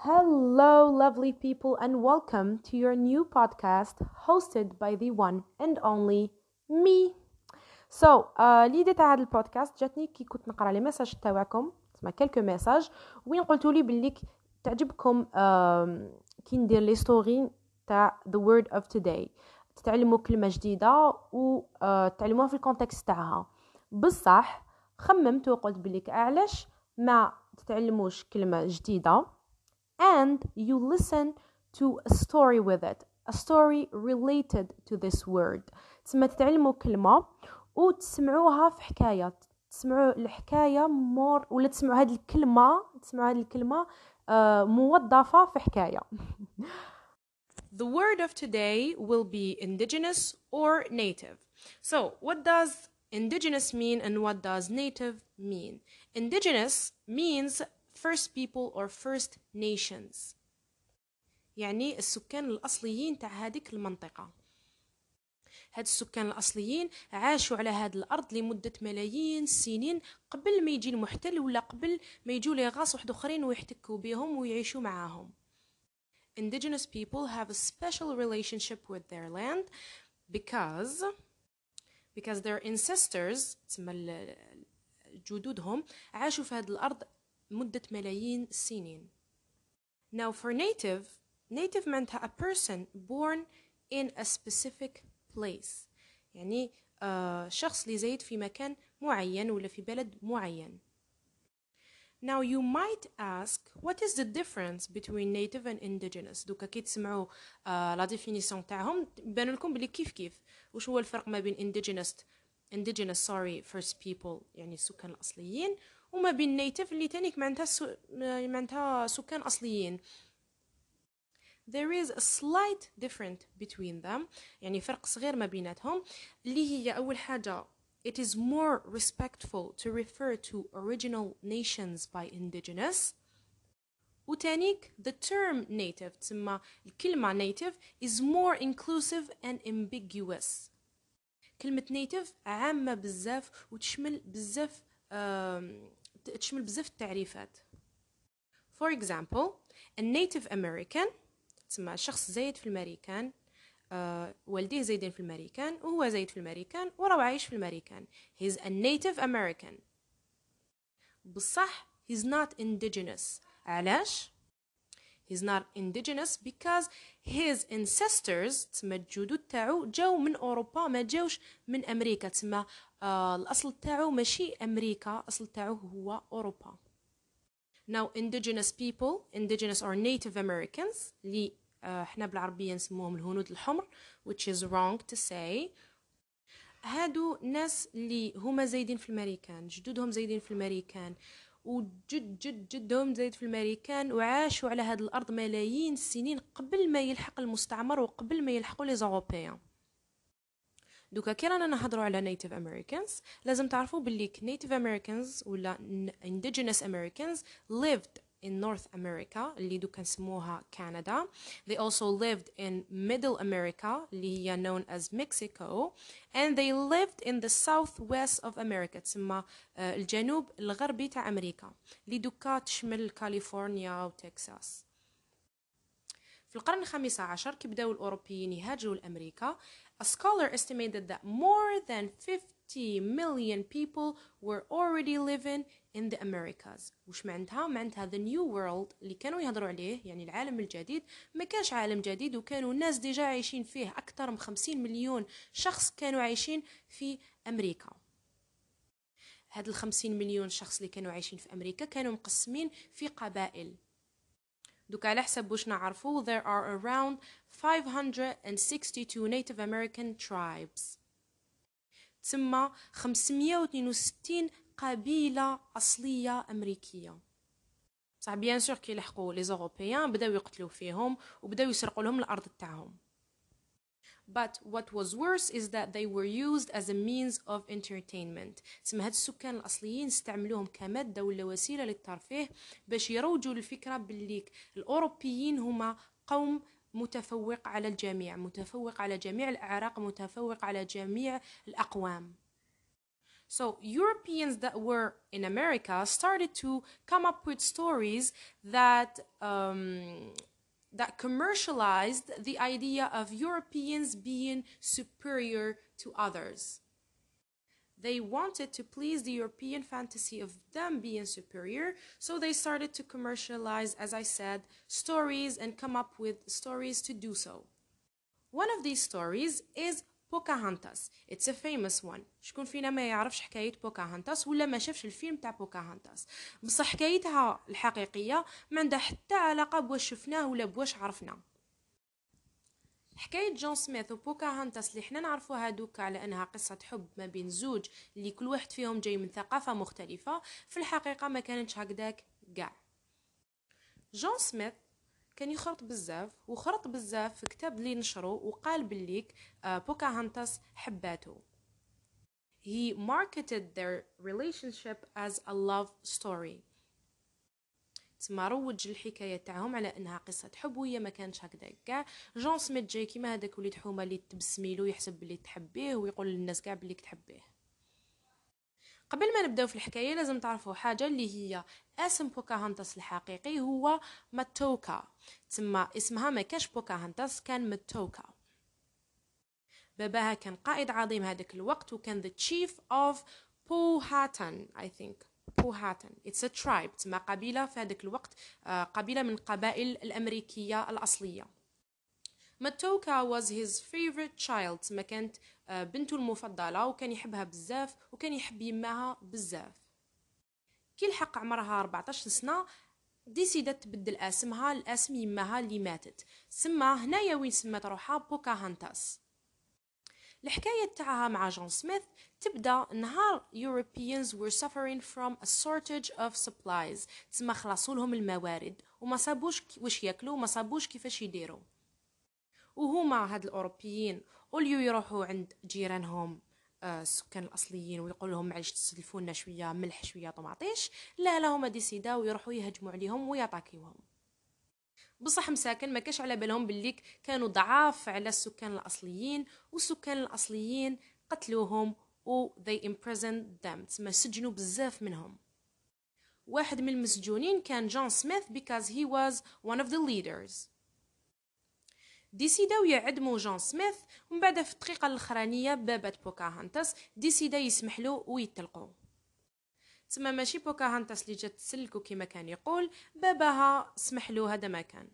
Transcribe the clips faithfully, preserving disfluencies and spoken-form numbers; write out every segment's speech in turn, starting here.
Hello, lovely people, and welcome to your new podcast hosted by the one and only me. So, uh, l'idée تاع هذا البودكاست جاتني كي كنت نقرا لي ميساج تاعكم، تسمع كلكو ميساج وين قلتوا لي باللي تعجبكم uh, كي ندير لي ستوري تاع the word of today، تتعلموا كلمه جديده وتعلموها في الكونتكست تاعها. بصح خممت وقلت باللي علاش ما تتعلموش كلمه جديده and you listen to a story with it, a story related to this word. تسمى تتعلموا كلمة وتسمعوها في حكاية، تسمعوا الحكاية مور ولا تسمعوا هذه الكلمة تسمعوا هذه الكلمة uh, موظفة في حكاية. The word of today will be indigenous or native. So what does indigenous mean and what does native mean? Indigenous means first people or first nations، يعني السكان الأصليين تاع هذيك المنطقة. هاد السكان الأصليين عاشوا على هاد الأرض لمدة ملايين السنين قبل ما يجي المحتل ولا قبل ما يجوا لي غاص واحد آخرين ويحتكوا بهم ويعيشوا معاهم. Indigenous people have a special relationship with their land because because their ancestors تسمى جدودهم عاشوا في هاد الأرض مدة ملايين السنين. Now for native, native meant a person born in a specific place. يعني uh, شخص اللي زايد في مكان معين ولا في بلد معين. Now you might ask, what is the difference between native and indigenous? دوكا كي تسمعوا uh, لا ديفينيسيون تاعهم يبان لكم بلي كيف كيف. وش هو الفرق ما بين indigenous indigenous sorry first people يعني السكان الأصليين وما بين native اللي تانيك معناتها سو... معناتها سكان أصليين. There is a slight difference between them، يعني فرق صغير ما بيناتهم اللي هي أول حاجة it is more respectful to refer to original nations by indigenous، وتانيك the term native تسمى الكلمة native is more inclusive and ambiguous. كلمة native عامة بزاف وتشمل بزاف تشمل بزاف التعريفات. For example, a native American تسمى شخص زايد في الأمريكان، آه والديه زايدين في الأمريكان وهو زايد في الأمريكان وراه عايش في الأمريكان. He's a native American. بصح he's not indigenous. علاش؟ He's not indigenous because his ancestors تسمى الجدود تاعو جاو من أوروبا ما جاوش من أمريكا. تسمى آه الأصل تاعو ماشي أمريكا، الأصل تاعو هو أوروبا. Now indigenous people, indigenous or native Americans اللي احنا بالعربية نسموهم الهنود الحمر which is wrong to say. هادو ناس اللي هما زايدين في الأمريكان، جدودهم زايدين في الأمريكان وجد جد جدهم زايد في الأمريكان وعاشوا على هاد الأرض ملايين السنين قبل ما يلحق المستعمر وقبل ما يلحقوا لي زوروبيان. دوكا كي رانا نهضروا على native Americans لازم تعرفوا باللي native Americans ولا indigenous Americans lived in North America اللي دوكا نسموها كندا. They also lived in Middle America اللي هي known as Mexico, and they lived in the southwest of America تسمى الجنوب الغربي تاع أمريكا اللي دوكا تشمل كاليفورنيا وتكساس. في القرن الخامس عشر كي بداو الأوروبيين يهاجروا لأمريكا a scholar estimated that more than fifty million people were already living in the Americas. وش معناتها؟ معناتها the new world اللي كانوا يهضروا عليه يعني العالم الجديد ما كانش عالم جديد وكانوا الناس ديجا عايشين فيه. أكثر من خمسين مليون شخص كانوا عايشين في أمريكا. هاد الخمسين مليون شخص اللي كانوا عايشين في أمريكا كانوا مقسمين في قبائل. دوك على حسب واش نعرفوا there are around five hundred sixty-two Native American tribes. تسمى خمسمية واثنين وستين قبيلة أصلية أمريكية. صح بيان سور كي لحقوا لي زوروبيان بداو يقتلوا فيهم وبداو يسرقوا لهم الأرض تاعهم. But what was worse is that they were used as a means of entertainment. تسمى هاد السكان الأصليين استعملوهم كمادة ولا وسيلة للترفيه باش يروجوا الفكرة باللي الأوروبيين هما قوم متفوق على الجميع، متفوق على جميع الأعراق، متفوق على جميع الأقوام. So Europeans that were in America started to come up with stories that um, that commercialized the idea of Europeans being superior to others. They wanted to please the European fantasy of them being superior, so they started to commercialize, as I said, stories and come up with stories to do so. One of these stories is Pocahontas. It's a famous one. شكون فينا ما يعرفش حكاية بوكاهانتاس ولا ما شافش الفيلم تاع بوكاهانتاس؟ بصح حكايتها الحقيقية ما عندها حتى علاقة بواش شفناه ولا بواش عرفنا. حكاية جون سميث وبوكاهانتاس اللي احنا نعرفوها دوكا على انها قصة حب ما بين زوج اللي كل واحد فيهم جاي من ثقافة مختلفة، في الحقيقة ما كانتش هكذاك قاع. جون سميث كان يخرط بزاف وخرط بزاف في كتاب اللي نشره وقال بليك بوكاهانتاس حباته. He marketed their relationship as a love story. تسمى روج الحكايه تاعهم على انها قصه حب وهي ما كانش هكذا كاع. جون سميث جاي كيما هذاك وليد حومه اللي تبسميلو يحسب بلي تحبيه ويقول للناس كاع بلي تحبيه. قبل ما نبداو في الحكايه لازم تعرفوا حاجه اللي هي اسم بوكاهانتاس الحقيقي هو ماتوكا. تسمى اسمها ما كانش بوكاهانتاس، كان ماتوكا. باباها كان قائد عظيم هذاك الوقت وكان the chief of Powhatan I think. Powhatan it's a tribe، تسمى قبيلة في هذاك الوقت، قبيلة من القبائل الأمريكية الأصلية. ماتوكا was his favorite child، تسمى كانت بنته المفضلة وكان يحبها بزاف وكان يحب يماها بزاف. كي لحق عمرها أربعطاش سنة ديسيدت تبدل اسمها لاسم يماها اللي ماتت، سما هنايا وين سمات روحها بوكاهانتاس. الحكاية تاعها مع جون سميث تبدا نهار Europeans were suffering from a shortage of supplies، تسمى خلصوا لهم الموارد وما صابوش واش ياكلوا وما صابوش كيفاش يديروا. وهما هاد الاوروبيين اوليو يروحوا عند جيرانهم آه السكان الاصليين ويقول لهم معليش تسلفوا لنا شويه ملح شويه طماطيش، لا لا هما ديسيداو يروحوا يهجموا عليهم ويطاكيوهم. بصح مساكن ما كاش على بالهم باللي كانوا ضعاف على السكان الاصليين، والسكان الاصليين قتلوهم و they imprisoned them، تسمى سجنوا بزاف منهم. واحد من المسجونين كان جون سميث because he was one of the leaders. ديسيداو يعدموا جون سميث ومن بعد في الدقيقه الاخرانيه بابات بوكاهانتاس ديسيدا يسمح له ويطلقوا. تسمى ماشي بوكاهانتاس اللي جات تسلكو كيما كان يقول، باباها سمح له هذا ما كان.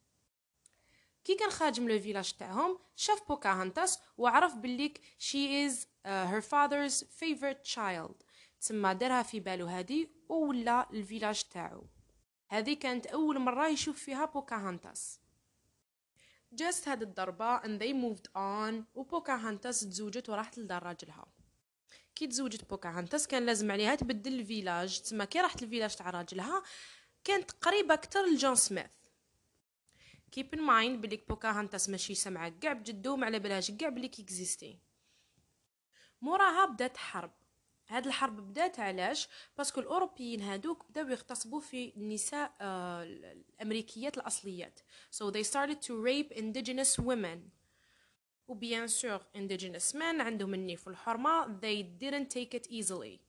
كي كان خارج من الفيلاج تاعهم شاف بوكاهانتاس وعرف بليك she is uh, her father's favorite child، تسمى دارها في بالو هذه ولا الفيلاج تاعو. هذه كانت اول مره يشوف فيها بوكاهانتاس. جاست هاد الضربه and they moved on وبوكاهانتاس تزوجت وراحت لدار راجلها. كي تزوجت بوكاهانتاس كان لازم عليها تبدل الفيلاج، تسمى كي راحت الفيلاج تاع راجلها كانت قريبه اكثر لجون سميث. keep in mind بليك بوكاهانتاس ماشي سمعة كاع بجدو ما على بالهاش كاع بلي كيكزيستي. موراها بدات حرب. هاد الحرب بدات علاش؟ باسكو الاوروبيين هادوك بداو يغتصبوا في النساء آه الامريكيات الاصليات. so they started to rape indigenous women. وبيان سور indigenous men عندهم النيف والحرمه they didn't take it easily.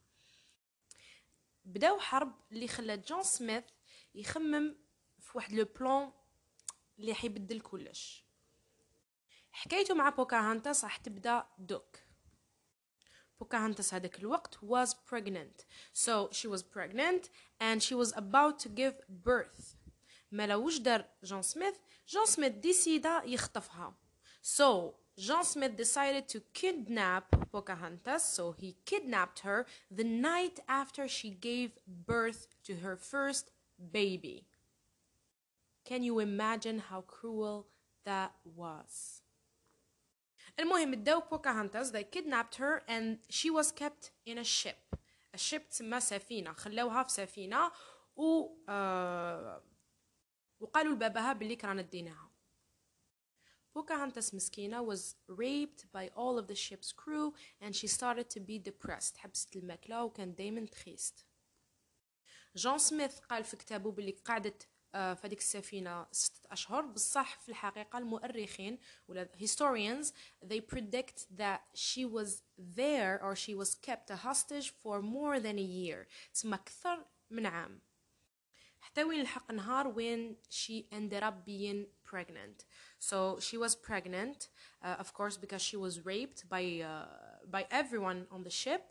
بداو حرب اللي خلات جون سميث يخمم في واحد لو بلان اللي حيبدل كلش. حكايته مع بوكاهانتاس راح تبدا دوك. بوكاهانتاس هذاك الوقت was pregnant. So she was pregnant and she was about to give birth. ما لوش دار جون سميث، جون سميث ديسيدا يخطفها. So John Smith decided to kidnap Pocahontas, so he kidnapped her the night after she gave birth to her first baby. Can you imagine how cruel that was? المهم اداو بوكاهانتاس they kidnapped her and she was kept in a ship. a ship تسمى سفينة، خلوها في سفينة و آه وقالوا لباباها باللي كرانا ديناها. Pocahontas مسكينة was raped by all of the ship's crew and she started to be depressed. حبست الماكلة وكان دايما تخيست. جون سميث قال في كتابه باللي قعدت آه، في هذيك السفينة ستة أشهر. بصح في الحقيقة المؤرخين ولا historians they predict that she was there or she was kept a hostage for more than a year. تسمى أكثر من عام. حتى وين الحق نهار وين she ended up being pregnant. So she was pregnant uh, of course because she was raped by uh, by everyone on the ship.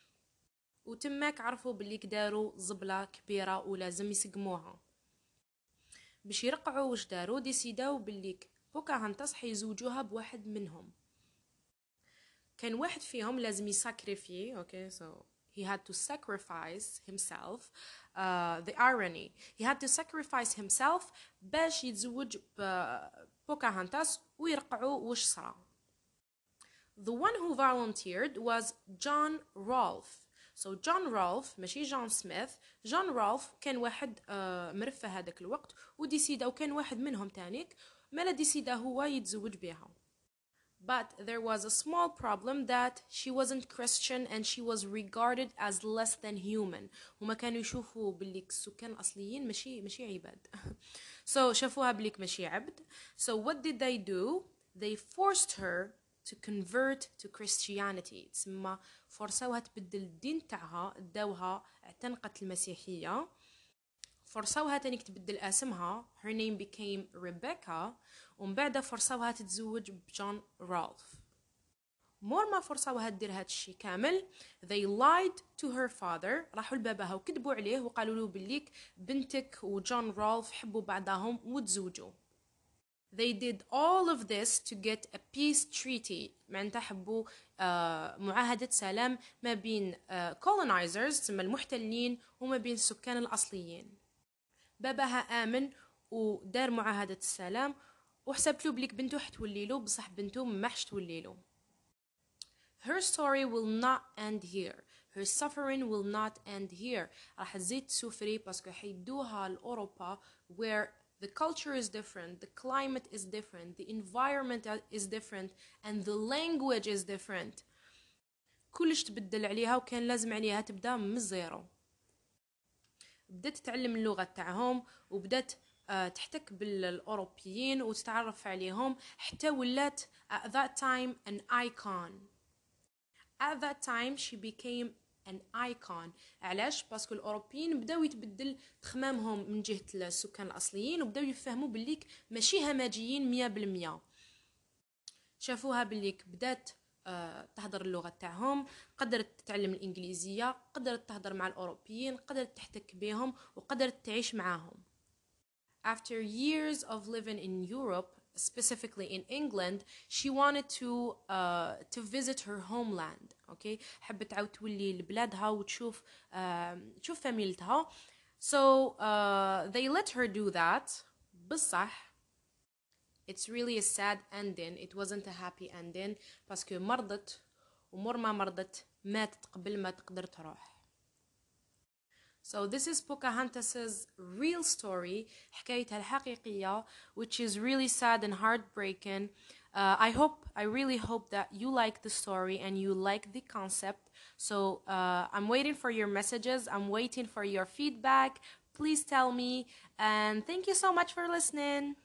وتماك عرفوا باللي كداروا زبلة كبيرة ولازم يسقموها. باش يرقعوا واش داروا ديسيداو باللي بوكاهانتاس حيزوجوها بواحد منهم. كان واحد فيهم لازم يساكريفي. اوكي okay, so he had to sacrifice himself. uh, the irony he had to sacrifice himself باش يتزوج بوكاهانتاس ويرقعوا واش صرا. The one who volunteered was John Rolfe. So John Rolfe ماشي جون سميث. جون رولف كان واحد uh, مرفه هذاك الوقت وديسيدا وكان واحد منهم تانيك مالا ديسيدا هو يتزوج بها. But there was a small problem that she wasn't Christian and she was regarded as less than human. هما كانوا يشوفوا باللي السكان الأصليين ماشي ماشي عباد. So شافوها باللي ماشي عبد. So what did they do? They forced her to convert to Christianity. تسمى فرصوها تبدل الدين تاعها داوها اعتنقت المسيحية. فرصوها تانيك تبدل اسمها. Her name became Rebecca. ومن بعد فرصوها تتزوج بجون رالف. مور ما فرصوها تدير هاد الشي كامل they lied to her father. راحوا لباباها وكذبوا عليه وقالوا له بليك بنتك وجون رالف حبوا بعضهم وتزوجوا. They did all of this to get a peace treaty. معناتها حبوا آه معاهدة سلام ما بين آه colonizers تسمى المحتلين وما بين السكان الأصليين. باباها آمن ودار معاهدة السلام وحسبت له بليك بنته حتولي له بصح بنته ما حش تولي له. Her story will not end here. Her suffering will not end here. راح تزيد تسوفري باسكو حيدوها لأوروبا where the culture is different, the climate is different, the environment is different, and the language is different. كلش تبدل عليها وكان لازم عليها تبدأ من الزيرو. بدأت تتعلم اللغة تاعهم وبدأت تحتك بالأوروبيين وتتعرف عليهم حتى ولات at that time an icon. At that time she became an icon. علاش؟ باسكو الأوروبيين بداو يتبدل تخمامهم من جهة السكان الأصليين وبداو يفهموا بليك ماشي همجيين مية بالمية. شافوها بليك بدات آه تهدر اللغة تاعهم قدرت تتعلم الإنجليزية قدرت تهدر مع الأوروبيين قدرت تحتك بهم وقدرت تعيش معاهم. After years of living in Europe, specifically in England, she wanted to uh, to visit her homeland. Okay, حبت تعاود تولي لبلادها وتشوف uh, تشوف فاميلتها. So uh, they let her do that. بصح it's really a sad ending. It wasn't a happy ending باسكو مرضت ومر ما مرضت ماتت قبل ما تقدر تروح. So this is Pocahontas's real story, حكايتها الحقيقية, which is really sad and heartbreaking. Uh, I hope, I really hope that you like the story and you like the concept. So uh, I'm waiting for your messages. I'm waiting for your feedback. Please tell me. And thank you so much for listening.